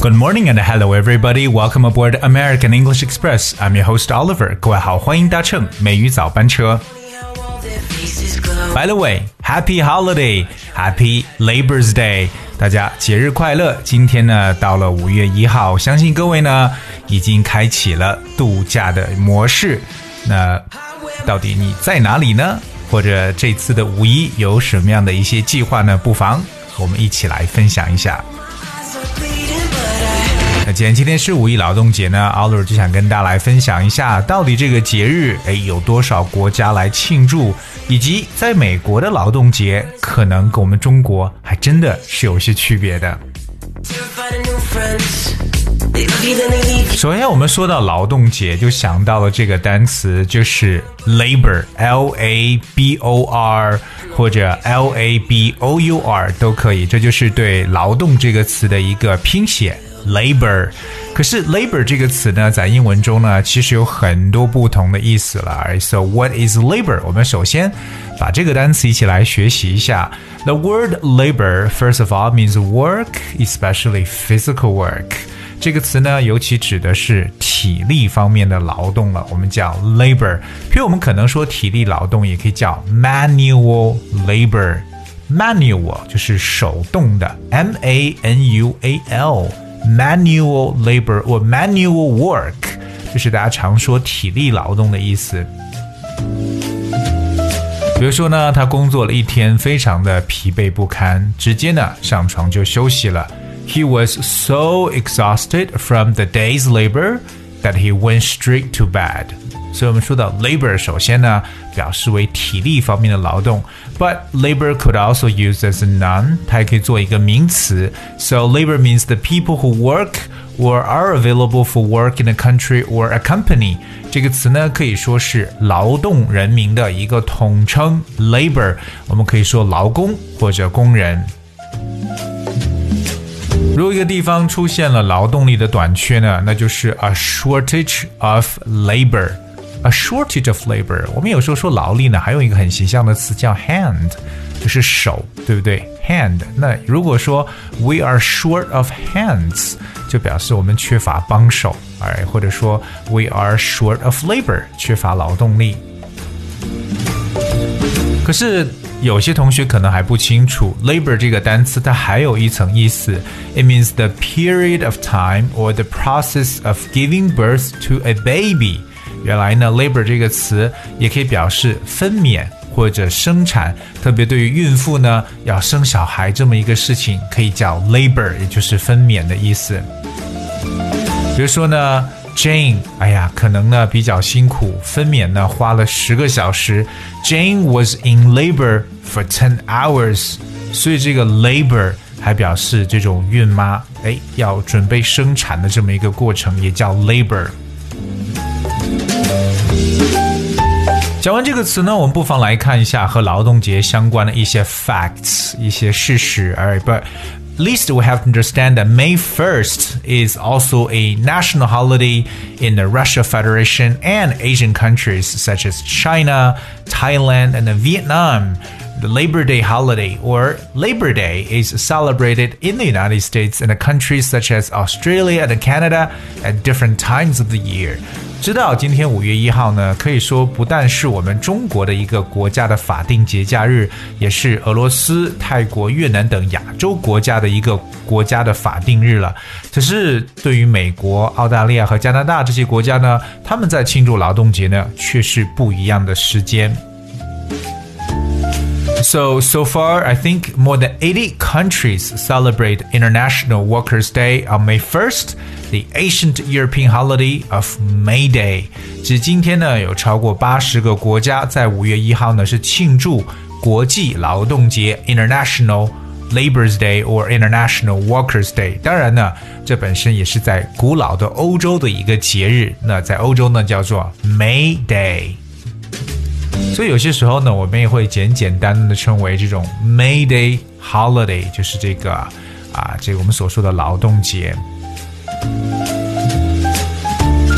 Good morning and hello everybody. Welcome aboard American English Express. I'm your host Oliver. 各位好，欢迎搭乘美语早班车。By the way, Happy Holiday, Happy Labor's Day. 大家节日快乐！今天呢，到了5月1号，相信各位呢已经开启了度假的模式。那到底你在哪里呢？或者这次的五一有什么样的一些计划呢？不妨和我们一起来分享一下。那既然今天是五一劳动节呢 Oliver 就想跟大家来分享一下，到底这个节日有多少国家来庆祝，以及在美国的劳动节可能跟我们中国还真的是有一些区别的。首先我们说到劳动节就想到了这个单词，就是 labor L-A-B-O-R 或者 L-A-B-O-U-R 都可以，这就是对劳动这个词的一个拼写labor。 可是 labor 这个词呢，在英文中呢其实有很多不同的意思了。 So what is labor? 我们首先把这个单词一起来学习一下。 The word labor first of all means work, especially physical work。 这个词呢尤其指的是体力方面的劳动了，我们叫 labor。 譬如我们可能说体力劳动也可以叫 manual labor。 Manual 就是手动的 M-A-N-U-A-L Manual labor or manual work 就是大家常说体力劳动的意思。比如说呢，他工作了一天，非常的疲惫不堪，直接呢上床就休息了。 He was so exhausted from the day's labor that he went straight to bed。 所以我们说到 labor 首先呢表示为体力方面的劳动， but labor could also use as a noun， 它也可以做一个名词。 So labor means the people who work or are available for work in a country or a company。 这个词呢可以说是劳动人民的一个统称。 labor 我们可以说劳工或者工人。如果一个地方出现了劳动力的短缺呢，那就是 a shortage of labor。A shortage of labor， 我们有时候说劳力呢还有一个很形象的词叫 hand， 就是手，对不对？ hand。 那如果说 we are short of hands， 就表示我们缺乏帮手，或者说 we are short of labor， 缺乏劳动力。可是有些同学可能还不清楚 labor 这个单词它还有一层意思， It means the period of time or the process of giving birth to a baby。原来呢 labor 这个词也可以表示分娩或者生产，特别对于孕妇呢要生小孩这么一个事情可以叫 labor， 也就是分娩的意思。比如说呢 Jane 可能呢比较辛苦，分娩呢花了10个小时， Jane was in labor for 10 hours。 所以这个 labor 还表示这种孕妈要准备生产的这么一个过程也叫 labor。讲完这个词呢，我们不妨来看一下和劳动节相关的一些 facts， 一些事实。But at least we have to understand that May 1st is also a national holiday in the Russia Federation and Asian countries such as China, Thailand, and Vietnam. The Labor Day holiday, or Labor Day, is celebrated in the United States and countries such as Australia and Canada at different times of the year. 知道今天5月1号呢，可以说不但是我们中国的一个国家的法定节假日，也是俄罗斯、泰国、越南等亚洲国家的一个国家的法定日了。可是对于美国、澳大利亚和加拿大这些国家呢，他们在庆祝劳动节呢，却是不一样的时间。So far, I think more than 80 countries celebrate International Workers' Day on May 1st, the ancient European holiday of May Day. 至今天呢，有超过80个国家在5月1号呢是庆祝国际劳动节 International Labor's Day or International Workers' Day。 当然呢，这本身也是在古老的欧洲的一个节日，那在欧洲呢叫做 May Day。所以有些时候呢，我们也会简单的称为这种 May Day Holiday， 就是这个我们所说的劳动节。可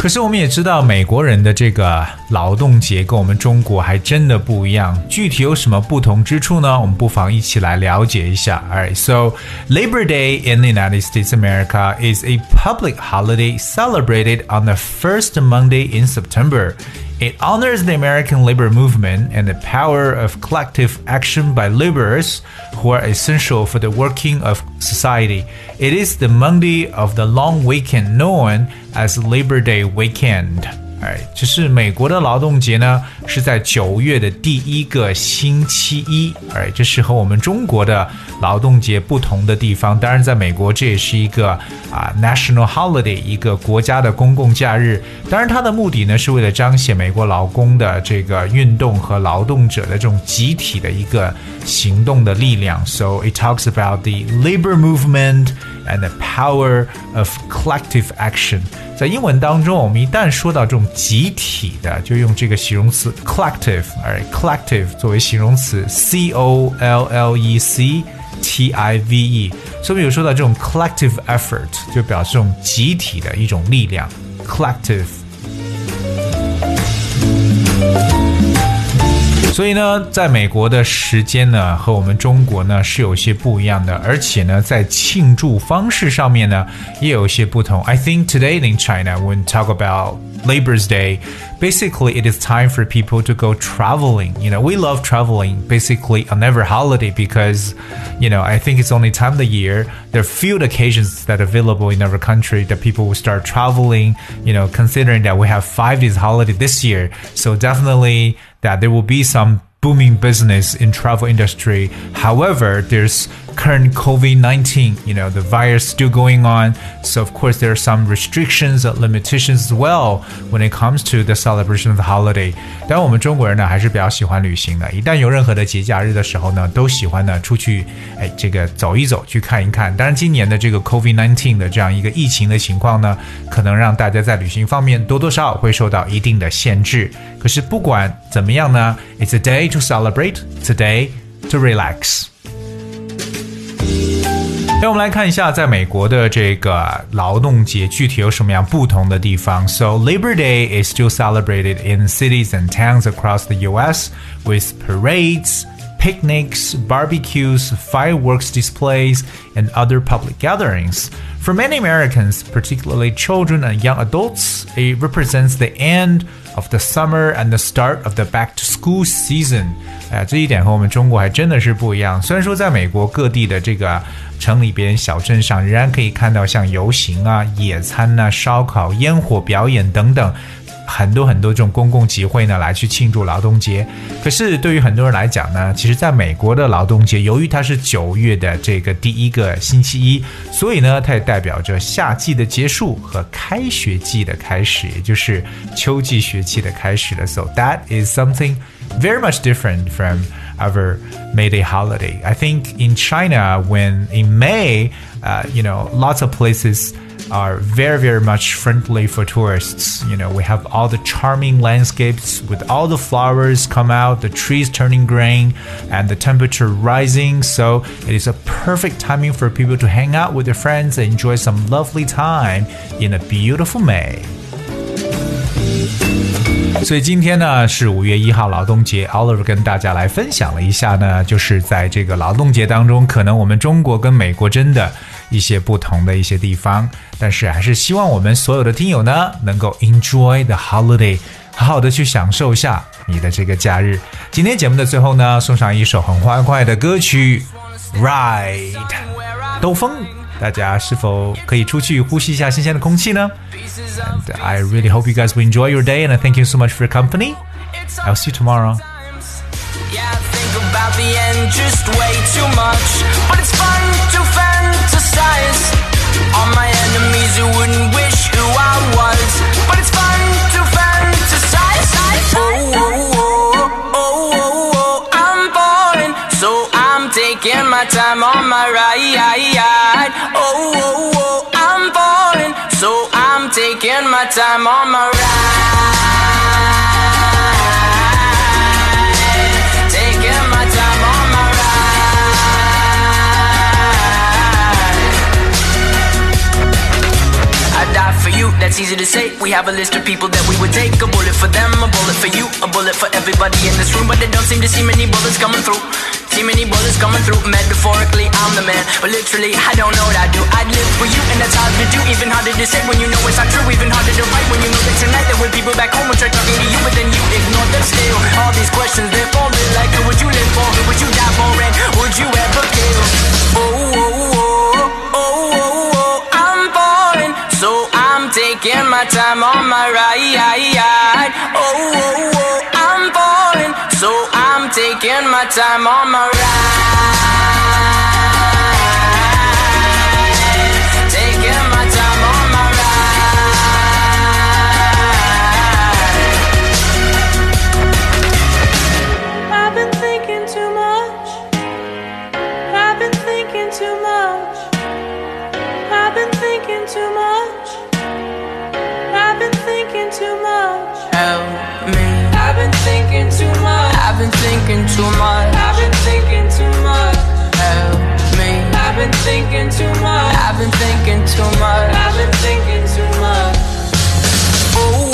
可是我们也知道，美国人的这个劳动节跟我们中国还真的不一样。具体有什么不同之处呢？我们不妨一起来了解一下。Alright, so Labor Day in the United States of America is a public holiday celebrated on the first Monday in September. It honors the American labor movement and the power of collective action by laborers who are essential for the working of society. It is the Monday of the long weekend known as Labor Day weekend. 这是美国的劳动节呢，是在9月的第一个星期一。这是和我们中国的劳动节不同的地方。当然，在美国这也是一个national holiday， 一个国家的公共假日。当然，它的目的呢是为了彰显美国劳工的这个运动和劳动者的这种集体的一个行动的力量。So it talks about the labor movement and the power of collective action. 在英文当中，我们一旦说到这种集体的，就用这个形容词 collective，collective 作为形容词 collective，所以我们有说到这种 collective effort， 就表示这种集体的一种力量 collective。所以呢，在美国的时间呢，和我们中国呢是有些不一样的，而且呢，在庆祝方式上面呢，也有一些不同。I think today in China, when talk about Labor's Day, basically it is time for people to go traveling. You know, we love traveling basically on every holiday because, you know, I think it's only time of the year. There are few occasions that are available in our country that people will start traveling, you know, considering that we have 5 days holiday this year. So definitely that there will be some booming business in travel industry. However, there's current COVID-19, you know, the virus still going on. So of course there are some restrictions and limitations as well when it comes to the celebration of the holiday. 当然我们中国人呢还是比较喜欢旅行的，一旦有任何的节假日的时候呢，都喜欢呢出去这个走一走，去看一看。当然今年的这个 COVID-19 的这样一个疫情的情况呢，可能让大家在旅行方面多多少少会受到一定的限制。可是不管怎么样呢， It's a day to celebrate, it's a day to relax. 那我们来看一下在美国的这个劳动节具体有什么样不同的地方。So Labor Day is still celebrated in cities and towns across the US with parades, picnics, barbecues, fireworks displays, and other public gatherings. For many Americans, particularly children and young adults, it represents the end of the summer and the start of the back-to-school season. 这一点和我们中国还真的是不一样。虽然说在美国各地的这个城里边、小镇上，仍然可以看到像游行啊、野餐啊、烧烤、烟火表演等等。很多这种公共集会呢，来去庆祝劳动节。可是对于很多人来讲呢，其实在美国的劳动节，由于它是9月的这个第一个星期一，所以呢，它也代表着夏季的结束和开学季的开始，也就是秋季学期的开始了。So that is something very much different from our May Day holiday. I think in China, when in May, you know, lots of places are very much friendly for tourists. You know, we have all the charming landscapes with all the flowers come out, the trees turning green, and the temperature rising. So it is a perfect timing for people to hang out with their friends and enjoy some lovely time in a beautiful May. 所以今天呢是5月1号劳动节 Oliver 跟大家来分享了一下呢，就是在这个劳动节当中，可能我们中国跟美国真的一些不同的一些地方，但是还是希望我们所有的听友呢能够 enjoy the holiday， 好好的去享受一下你的这个假日。今天节目的最后呢，送上一首很欢快的歌曲 Ride 兜风，大家是否可以出去呼吸一下新鲜的空气呢？ And I really hope you guys will enjoy your day, and I thank you so much for your company. I'll see you tomorrow. Yeah, I think about the end just way too much, but it's fun to fantasize on my enemies who wouldn't wish who I was, but it's fun to fantasize. Oh, I'm boring, so I'm taking my time on my ride. Oh, I'm boring, so I'm taking my time on my ride. That's it's easy to say. We have a list of people that we would take. A bullet for them, a bullet for you, a bullet for everybody in this room. But they don't seem to see many bullets coming through. See many bullets coming through. Metaphorically, I'm the man, but literally, I don't know what I do. I'd live for you, and that's hard to do. Even harder to say when you know it's not true. Even harder to write when you know that tonight there were people back home who tried talking to you, but then you ignore them still. All these questions, they're falling like, who would you live for? Who would you die for? And would you ever kill? Oh, oh, oh, oh, oh, oh, I'm falling, so I'm taking my time on my ride. Oh, oh, oh, I'm falling, so I'm taking my time on my ride. Taking my time on my ride. I've been thinking too much. I've been thinking too much. I've been thinking too much. I've been thinking too much. Help me. I've been thinking too much. I've been thinking too much. I've been thinking too much. Help me. I've been thinking too much. I've been thinking too much. I've been thinking too much. Oh,